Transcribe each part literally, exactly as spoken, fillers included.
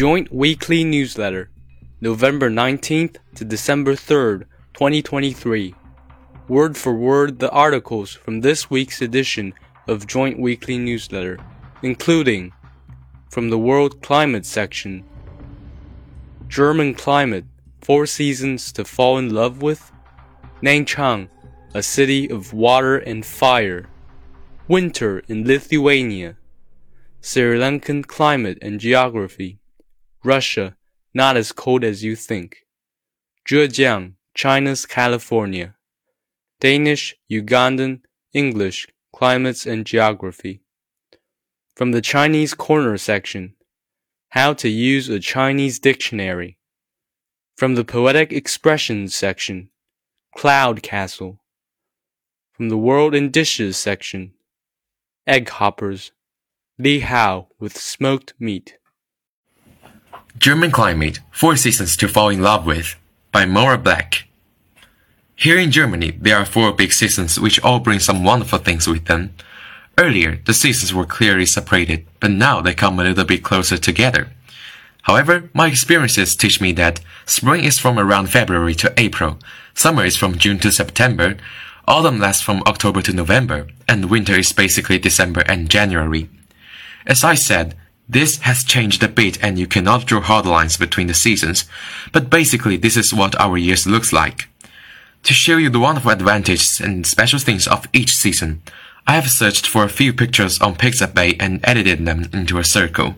Joint Weekly Newsletter, November nineteenth to December third, twenty twenty-three. Word for word the articles from this week's edition of Joint Weekly Newsletter, including from the World Climate section, German climate, four seasons to fall in love with, Nangchang, a city of water and fire, winter in Lithuania, Sri Lankan climate and geography, Russia, not as cold as you think, Zhejiang, China's California, Danish, Ugandan, English, climates and geography. From the Chinese Corner section, how to use a Chinese dictionary. From the Poetic Expressions section, Cloud Castle. From the World in Dishes section, Egg Hoppers, Li Hao with smoked meat. German Climate, Four Seasons to Fall in Love With, by Maura Black. Here in Germany, there are four big seasons which all bring some wonderful things with them. Earlier, the seasons were clearly separated, but now they come a little bit closer together. However, my experiences teach me that spring is from around February to April, summer is from June to September, autumn lasts from October to November, and winter is basically December and January. As I said, this has changed a bit and you cannot draw hard lines between the seasons, but basically this is what our years looks like. To show you the wonderful advantages and special things of each season, I have searched for a few pictures on Pixabay and edited them into a circle.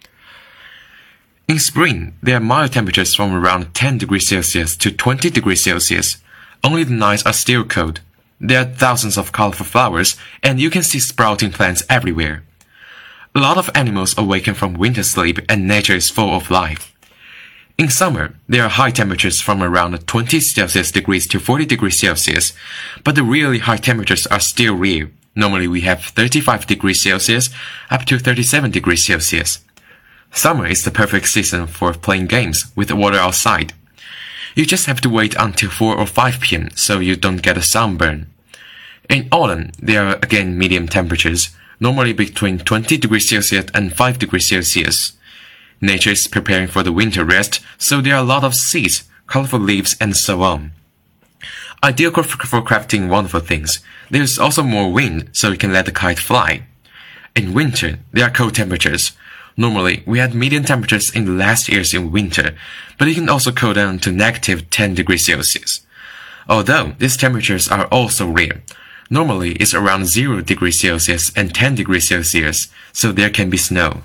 In spring, there are mild temperatures from around ten degrees Celsius to twenty degrees Celsius. Only the nights are still cold. There are thousands of colorful flowers, and you can see sprouting plants everywhere. A lot of animals awaken from winter sleep and nature is full of life. In summer, there are high temperatures from around twenty Celsius degrees to forty degrees Celsius, but the really high temperatures are still rare. Normally we have thirty-five degrees Celsius up to thirty-seven degrees Celsius. Summer is the perfect season for playing games with water outside. You just have to wait until four or five p m so you don't get a sunburn. In autumn, there are again medium temperatures, normally between twenty degrees Celsius and five degrees Celsius. Nature is preparing for the winter rest, so there are a lot of seeds, colorful leaves, and so on. Ideal for, for crafting wonderful things. There is also more wind, so you can let the kite fly. In winter, there are cold temperatures. Normally, we had medium temperatures in the last years in winter, but it can also cool down to negative ten degrees Celsius. Although these temperatures are also rare. Normally, it's around zero degrees Celsius and ten degrees Celsius, so there can be snow.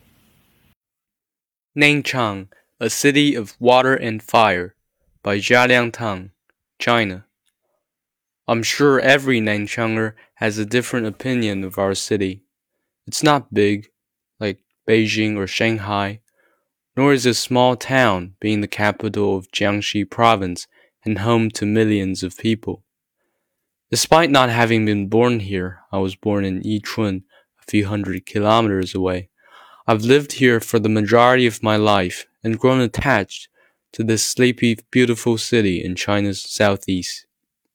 Nangchang, a city of water and fire, by Zhaliang Tang, China. I'm sure every Nangchanger has a different opinion of our city. It's not big, like Beijing or Shanghai, nor is it a small town, being the capital of Jiangxi province and home to millions of people. Despite not having been born here, I was born in Yichun, a few hundred kilometers away. I've lived here for the majority of my life and grown attached to this sleepy, beautiful city in China's southeast.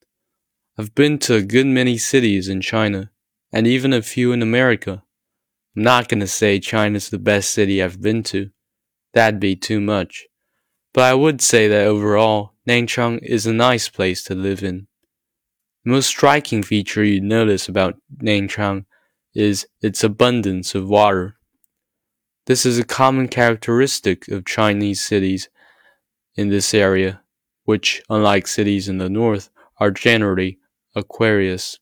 I've been to a good many cities in China, and even a few in America. I'm not going to say China's the best city I've been to. That'd be too much. But I would say that overall, Nangchang is a nice place to live in. The most striking feature you'd notice about Nangchang is its abundance of water. This is a common characteristic of Chinese cities in this area, which, unlike cities in the north, are generally aquarious.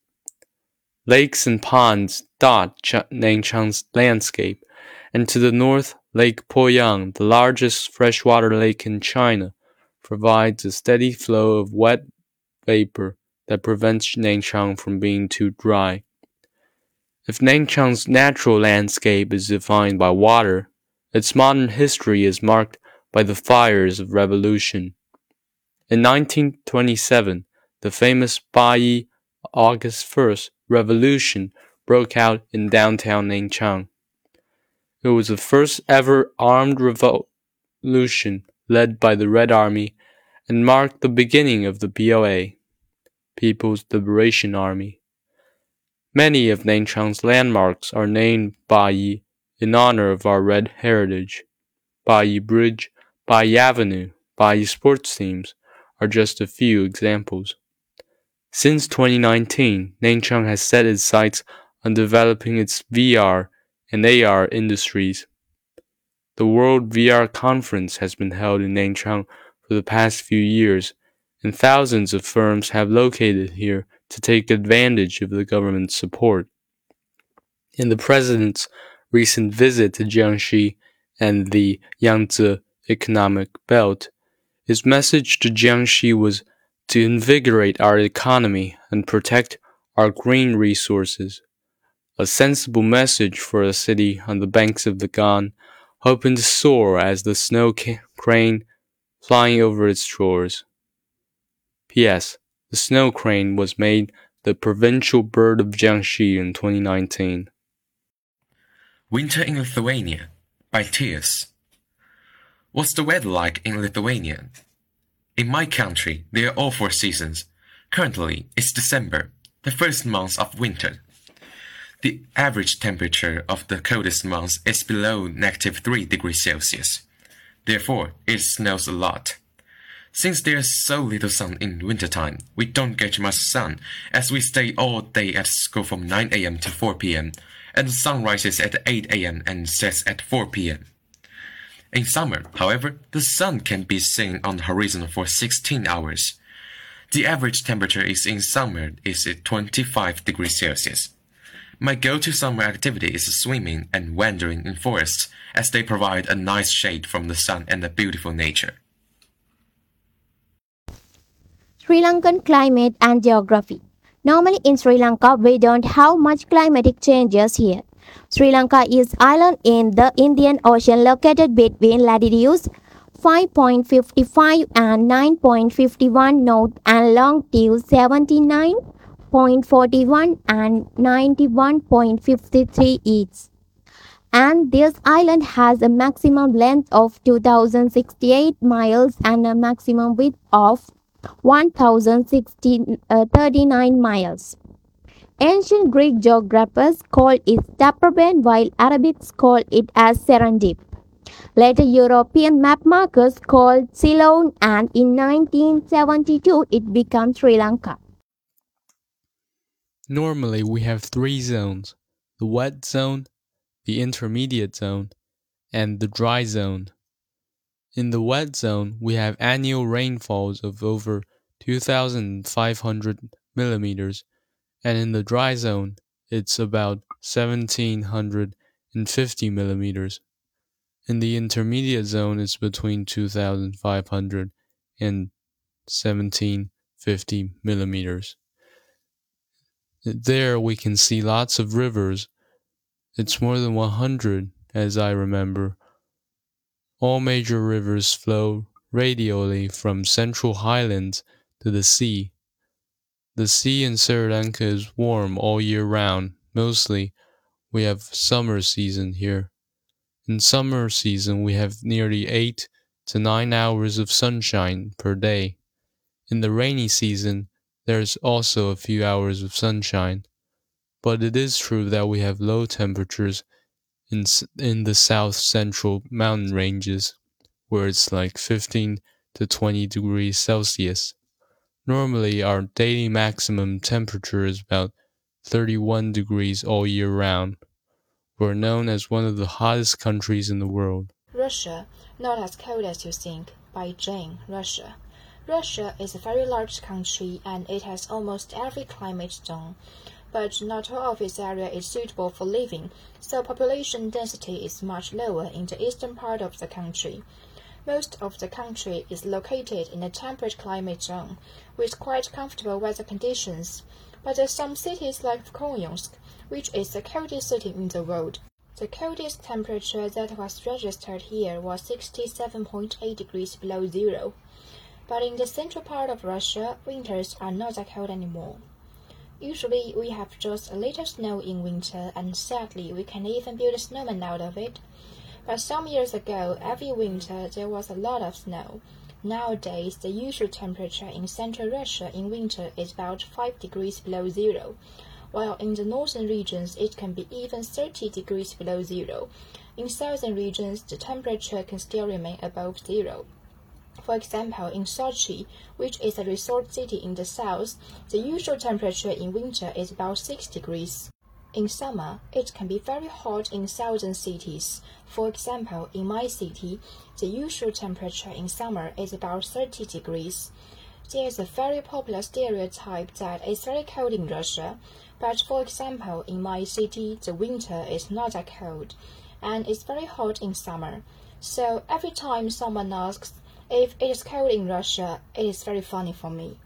Lakes and ponds dot Ch- Nangchang's landscape, and to the north, Lake Poyang, the largest freshwater lake in China, provides a steady flow of wet vapor that prevents Nangchang from being too dry. If Nangchang's natural landscape is defined by water, its modern history is marked by the fires of revolution. In nineteen twenty-seven, the famous Bayi August first revolution broke out in downtown Nangchang. It was the first ever armed revolution led by the Red Army and marked the beginning of the P L A, People's Liberation Army. Many of Nangchang's landmarks are named Bayi in honor of our red heritage. Baiyi Bridge, Baiyi Avenue, Baiyi sports teams are just a few examples. Since twenty nineteen, Nanchang has set its sights on developing its V R and A R industries. The World V R Conference has been held in Nanchang for the past few years, and thousands of firms have located here to take advantage of the government's support. In the president's recent visit to Jiangxi and the Yangtze Economic Belt, his message to Jiangxi was to invigorate our economy and protect our green resources. A sensible message for a city on the banks of the Gan, hoping to soar as the snow crane flying over its shores. P S. The snow crane was made the provincial bird of Jiangxi in twenty nineteen. Winter in Lithuania by Tears. What's the weather like in Lithuania? In my country, there are all four seasons. Currently, it's December, the first month of winter. The average temperature of the coldest month is below negative three degrees Celsius. Therefore, it snows a lot. Since there's so little sun in wintertime, we don't get much sun, as we stay all day at school from nine a m to four p m, and the sun rises at eight a m and sets at four p m In summer, however, the sun can be seen on the horizon for sixteen hours. The average temperature is in summer is twenty-five degrees Celsius. My go-to summer activity is swimming and wandering in forests, as they provide a nice shade from the sun and a beautiful nature. Sri Lankan climate and geography. Normally in Sri Lanka, we don't have much climatic changes here. Sri Lanka is an island in the Indian Ocean located between latitudes five point five five and nine point five one north and longitude seventy-nine point four one and ninety-one point five three east. And this island has a maximum length of two thousand sixty-eight miles and a maximum width of one thousand thirty-nine miles. Ancient Greek geographers called it Taprobane, while Arabics called it as Serendip. Later European map markers called Ceylon, and in nineteen seventy-two it became Sri Lanka. Normally we have three zones: the wet zone, the intermediate zone, and the dry zone. In the wet zone, we have annual rainfalls of over two thousand five hundred millimeters, and in the dry zone, it's about one thousand seven hundred fifty millimeters. In the intermediate zone, it's between two thousand five hundred and one thousand seven hundred fifty millimeters. There we can see lots of rivers. It's more than one hundred, as I remember. All major rivers flow radially from central highlands to the sea. The sea in Sri Lanka is warm all year round. Mostly, we have summer season here. In summer season, we have nearly eight to nine hours of sunshine per day. In the rainy season, there's also a few hours of sunshine. But it is true that we have low temperatures in in the south central mountain ranges, where it's like fifteen to twenty degrees Celsius. Normally, our daily maximum temperature is about thirty-one degrees all year round. We're known as one of the hottest countries in the world. Russia, not as cold as you think, by Jane, Russia. Russia is a very large country and it has almost every climate zone, but not all of its area is suitable for living, so population density is much lower in the eastern part of the country. Most of the country is located in a temperate climate zone, with quite comfortable weather conditions, but there are some cities like Kolyonsk, which is the coldest city in the world. The coldest temperature that was registered here was sixty-seven point eight degrees below zero. But in the central part of Russia, winters are not that cold anymore. Usually, we have just a little snow in winter, and sadly, we can even build a snowman out of it. But some years ago, every winter, there was a lot of snow. Nowadays, the usual temperature in central Russia in winter is about five degrees below zero, while in the northern regions it can be even thirty degrees below zero. In southern regions, the temperature can still remain above zero. For example, in Sochi, which is a resort city in the south, the usual temperature in winter is about six degrees. In summer, it can be very hot in southern cities. For example, in my city, the usual temperature in summer is about thirty degrees. There is a very popular stereotype that it's very cold in Russia, but for example, in my city, the winter is not that cold, and it's very hot in summer. So every time someone asks if it is cold in Russia, it is very funny for me.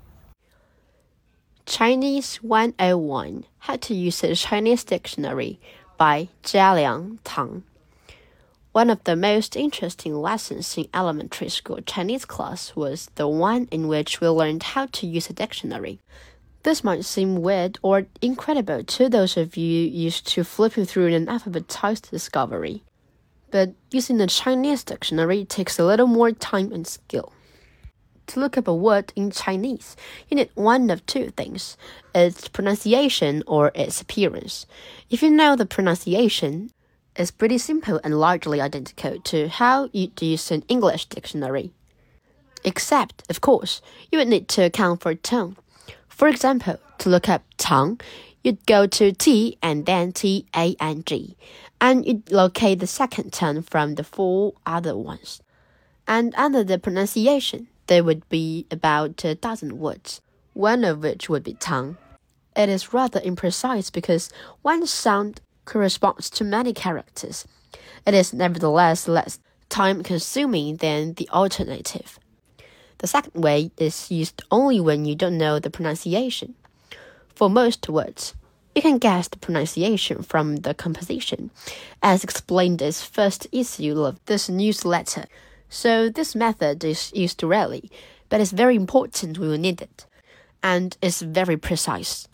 Chinese one oh one, How to Use a Chinese Dictionary by Jialiang Tang. One of the most interesting lessons in elementary school Chinese class was the one in which we learned how to use a dictionary. This might seem weird or incredible to those of you used to flipping through an alphabetized discovery, but using a Chinese dictionary takes a little more time and skill. To look up a word in Chinese, you need one of two things, its pronunciation or its appearance. If you know the pronunciation, it's pretty simple and largely identical to how you'd use an English dictionary. Except, of course, you would need to account for tone. For example, to look up tongue, you'd go to T and then T A N G, and you'd locate the second tone from the four other ones. And under the pronunciation, there would be about a dozen words, one of which would be tongue. It is rather imprecise because one sound corresponds to many characters. It is nevertheless less time-consuming than the alternative. The second way is used only when you don't know the pronunciation. For most words, you can guess the pronunciation from the composition, as explained in the first issue of this newsletter. So this method is used rarely, but it's very important when you need it, and it's very precise.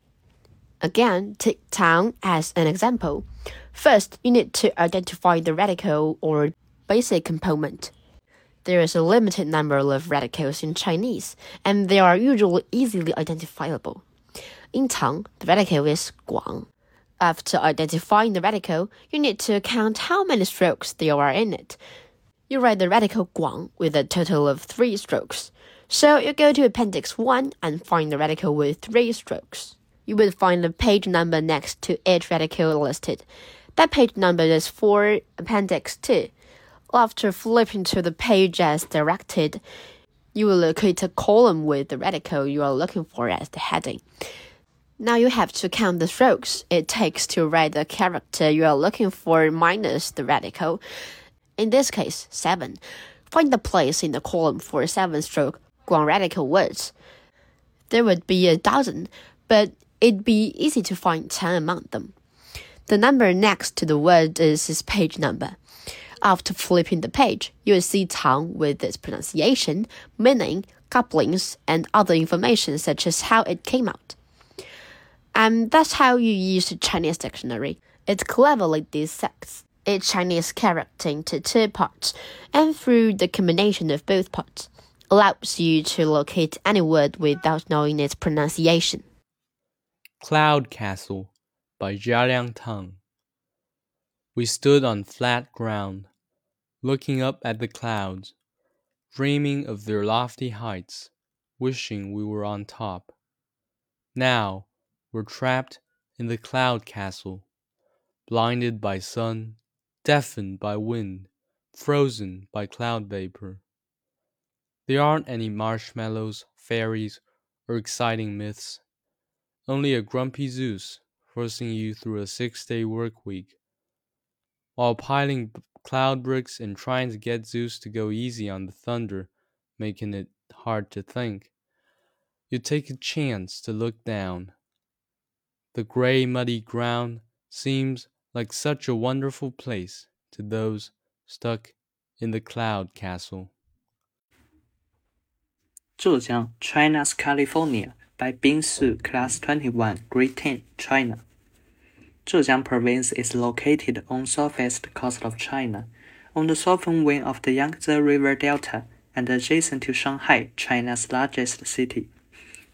Again, take tongue as an example. First, you need to identify the radical or basic component. There is a limited number of radicals in Chinese, and they are usually easily identifiable. In tongue, the radical is guang. After identifying the radical, you need to count how many strokes there are in it. You write the radical guang with a total of three strokes. So you go to Appendix one and find the radical with three strokes. You will find the page number next to each radical listed. That page number is for Appendix two. After flipping to the page as directed, you will locate a column with the radical you are looking for as the heading. Now you have to count the strokes it takes to write the character you are looking for minus the radical. In this case, seven. Find the place in the column for seven-stroke guang radical words. There would be a dozen, but it'd be easy to find ten among them. The number next to the word is its page number. After flipping the page, you will see tongue with its pronunciation, meaning, couplings, and other information such as how it came out. And that's how you use the Chinese dictionary. It cleverly dissects each Chinese character into two parts, and through the combination of both parts, allows you to locate any word without knowing its pronunciation. Cloud Castle by Jialiang Tang. We stood on flat ground, looking up at the clouds, dreaming of their lofty heights, wishing we were on top. Now we're trapped in the cloud castle, blinded by sun, deafened by wind, frozen by cloud vapor. There aren't any marshmallows, fairies, or exciting myths. Only a grumpy Zeus forcing you through a six-day work week, while piling cloud bricks and trying to get Zeus to go easy on the thunder, making it hard to think. You take a chance to look down. The gray, muddy ground seems like such a wonderful place to those stuck in the cloud castle. Zhejiang, China's California, by Bing Su, Class twenty-one, Grade ten, China. Zhejiang Province is located on southwest coast of China, on the southern wing of the Yangtze River Delta, and adjacent to Shanghai, China's largest city.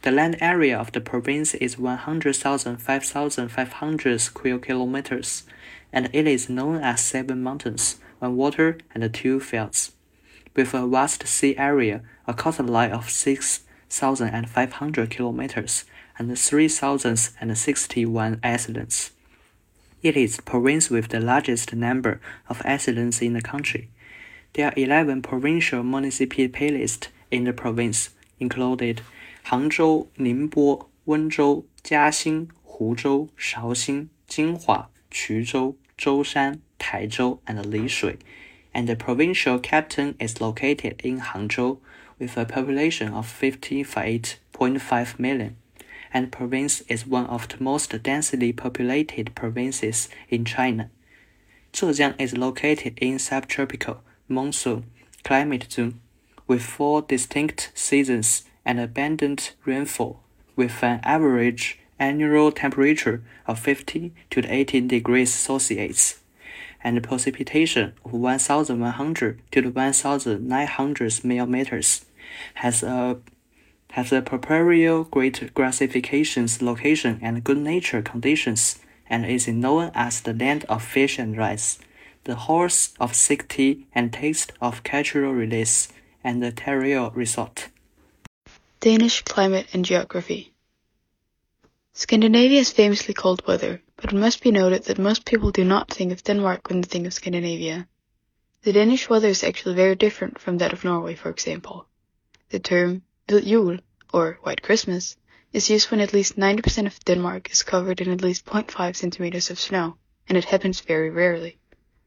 The land area of the province is one hundred thousand five thousand five hundred square kilometers, and it is known as seven mountains, one water, and two fields. With a vast sea area, a coastline of six thousand five hundred kilometers, and three thousand sixty-one islands. It is the province with the largest number of islands in the country. There are eleven provincial municipalities in the province, included Hangzhou, Ningbo, Wenzhou, Jiaxing, Huzhou, Shaoxing, Jinhua, Quzhou, Zhoushan, Taizhou, and Lishui, and the provincial capital is located in Hangzhou, with a population of fifty-eight point five million, and the province is one of the most densely populated provinces in China. Zhejiang is located in subtropical monsoon climate zone, with four distinct seasons and abundant rainfall, with an average annual temperature of fifteen to eighteen degrees Celsius, and precipitation of one thousand one hundred to one thousand nine hundred millimeters, has a has a peculiar great classifications, location, and good nature conditions, and is known as the land of fish and rice, the horse of safety and taste of cultural release, and the Terrier resort. Danish climate and geography. Scandinavia is famously cold weather, but it must be noted that most people do not think of Denmark when they think of Scandinavia. The Danish weather is actually very different from that of Norway, for example. The term Hvid Jul, or White Christmas, is used when at least ninety percent of Denmark is covered in at least zero point five centimeters of snow, and it happens very rarely.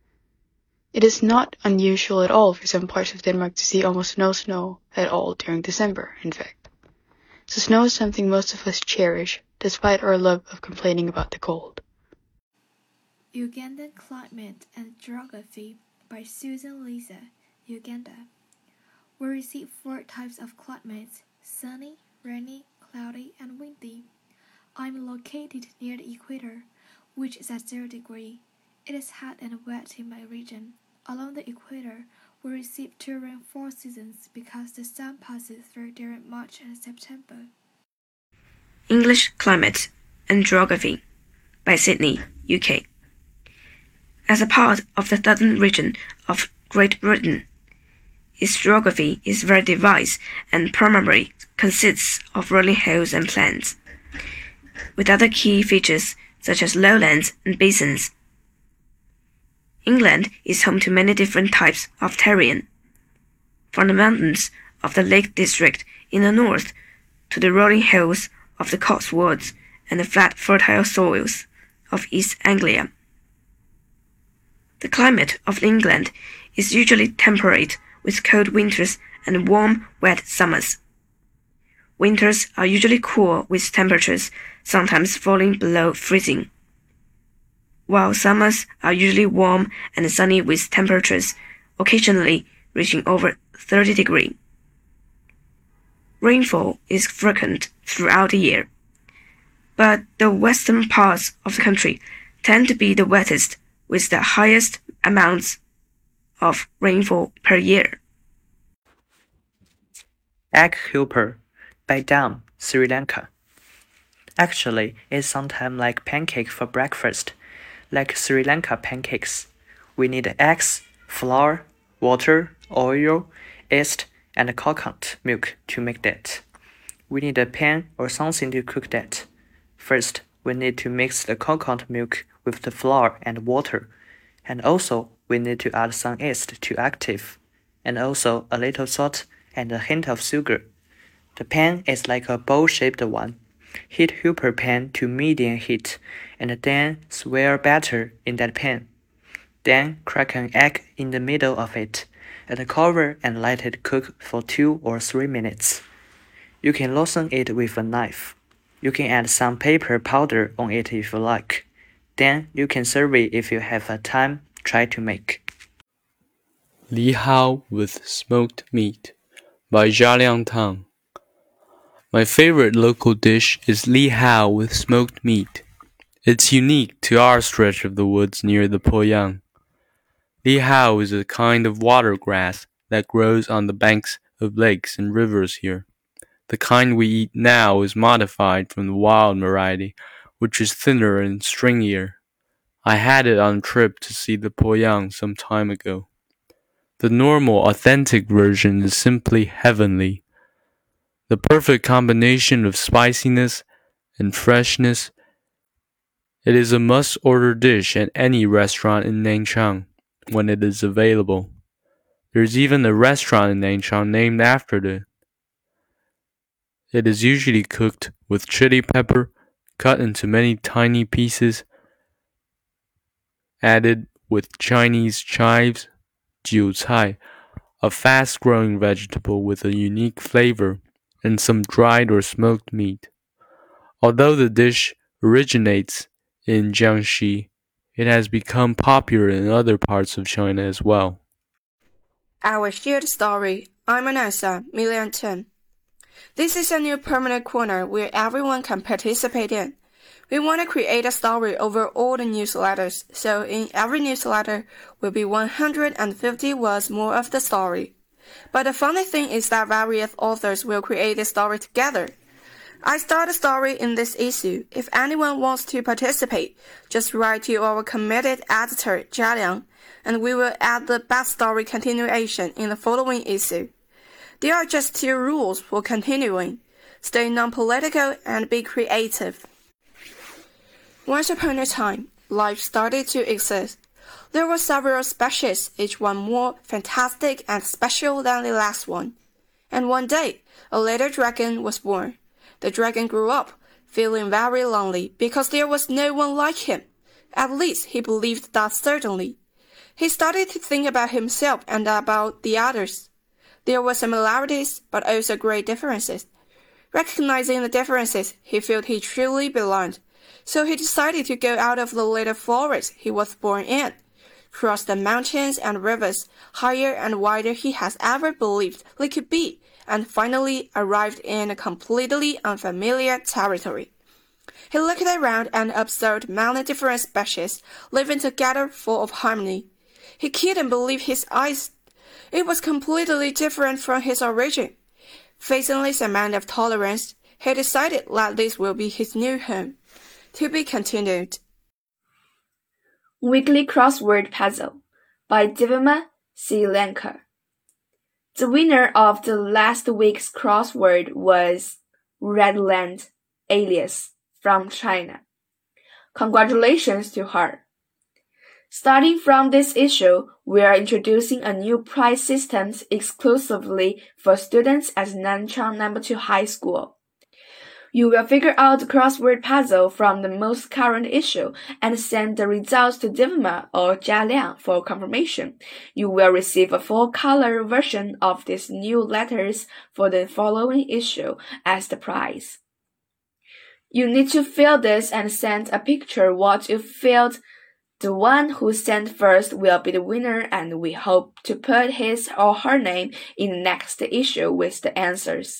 It is not unusual at all for some parts of Denmark to see almost no snow at all during December, in fact. So snow is something most of us cherish, despite our love of complaining about the cold. Ugandan Climate and Geography by Susan Lisa, Uganda. We receive four types of climates: sunny, rainy, cloudy, and windy. I'm located near the equator, which is at zero degree. It is hot and wet in my region. Along the equator, we receive two rainfall seasons because the sun passes through during March and September. English Climate and Geography by Sydney, U K. As a part of the southern region of Great Britain, its geography is very diverse and primarily consists of rolling hills and plains, with other key features such as lowlands and basins. England is home to many different types of terrain, from the mountains of the Lake District in the north to the rolling hills of the Cotswolds and the flat fertile soils of East Anglia. The climate of England is usually temperate, with cold winters and warm, wet summers. Winters are usually cool, with temperatures sometimes falling below freezing, while summers are usually warm and sunny, with temperatures occasionally reaching over thirty degrees. Rainfall is frequent throughout the year, but the western parts of the country tend to be the wettest, with the highest amounts of rainfall per year. Egg helper by Dam, Sri Lanka. Actually, it's sometimes like pancake for breakfast, like Sri Lanka pancakes. We need eggs, flour, water, oil, yeast, and coconut milk to make that. We need a pan or something to cook that. First, we need to mix the coconut milk with the flour and water, and also we need to add some yeast to active, and also a little salt and a hint of sugar. The pan is like a bowl-shaped one. Heat helper pan to medium heat, and then swirl batter in that pan. Then crack an egg in the middle of it, and cover and let it cook for two or three minutes. You can loosen it with a knife. You can add some pepper powder on it if you like. Then you can serve it if you have a time try to make. Li Hao with smoked meat by Jia Liang Tang. My favorite local dish is Li Hao with smoked meat. It's unique to our stretch of the woods near the Poyang. Li Hao is a kind of water grass that grows on the banks of lakes and rivers here. The kind we eat now is modified from the wild variety, which is thinner and stringier. I had it on a trip to see the Poyang some time ago. The normal, authentic version is simply heavenly. The perfect combination of spiciness and freshness. It is a must-order dish at any restaurant in Nanchang when it is available. There's even a restaurant in Nanchang named after it. It is usually cooked with chili pepper, cut into many tiny pieces, added with Chinese chives, jiu cai, a fast-growing vegetable with a unique flavor, and some dried or smoked meat. Although the dish originates in Jiangxi, it has become popular in other parts of China as well. Our shared story. I'm Anessa, Million Chen. This is a new permanent corner where everyone can participate in. We want to create a story over all the newsletters, so in every newsletter will be one hundred fifty words more of the story. But the funny thing is that various authors will create the story together. I start a story in this issue. If anyone wants to participate, just write to our committed editor, Jia Liang, and we will add the best story continuation in the following issue. There are just two rules for continuing. Stay non-political and be creative. Once upon a time, life started to exist. There were several species, each one more fantastic and special than the last one. And one day, a little dragon was born. The dragon grew up, feeling very lonely because there was no one like him. At least he believed that certainly. He started to think about himself and about the others. There were similarities, but also great differences. Recognizing the differences, he felt he truly belonged. So he decided to go out of the little forest he was born in, cross the mountains and rivers, higher and wider he has ever believed they could be, and finally arrived in a completely unfamiliar territory. He looked around and observed many different species living together full of harmony. He couldn't believe his eyes. It was completely different from his origin. Facing this amount of tolerance, he decided that this will be his new home. To be continued. Weekly Crossword Puzzle by Divima Sri Lanka. The winner of the last week's crossword was Redland Alias from China. Congratulations to her. Starting from this issue, we are introducing a new prize system exclusively for students at Nanchang Number two High School. You will figure out the crossword puzzle from the most current issue and send the results to Divima or Jia Liang for confirmation. You will receive a full-color version of these new letters for the following issue as the prize. You need to fill this and send a picture what you filled. The one who sent first will be the winner, and we hope to put his or her name in the next issue with the answers.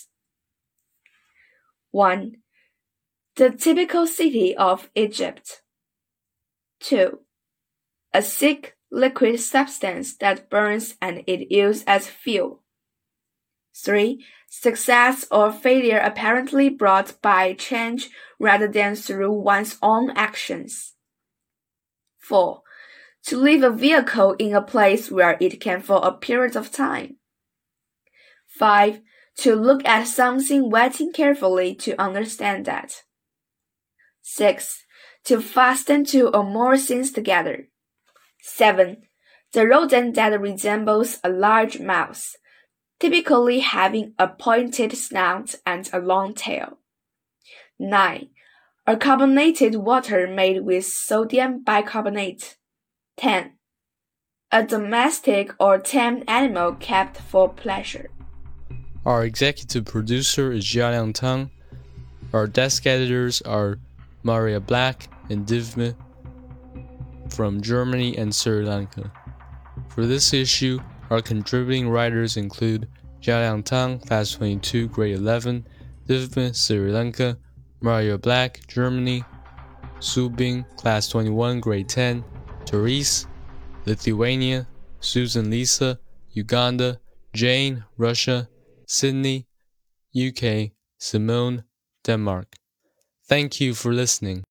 one. The typical city of Egypt. two. A thick liquid substance that burns and is used as fuel. three. Success or failure apparently brought by change rather than through one's own actions. four. To leave a vehicle in a place where it can for a period of time. five. To look at something waiting carefully to understand that. six. To fasten two or more things together. seven. The rodent that resembles a large mouse, typically having a pointed snout and a long tail. nine. A carbonated water made with sodium bicarbonate. ten. A domestic or tame animal kept for pleasure. Our executive producer is Jialiang Tang. Our desk editors are Maria Black and Divme from Germany and Sri Lanka. For this issue, our contributing writers include Jialiang Tang, Class twenty-two, Grade eleven, Divme, Sri Lanka, Maria Black, Germany, Su Bing, Class twenty-one, Grade ten, Therese, Lithuania, Susan Lisa, Uganda, Jane, Russia, Sydney, U K, Simone, Denmark. Thank you for listening.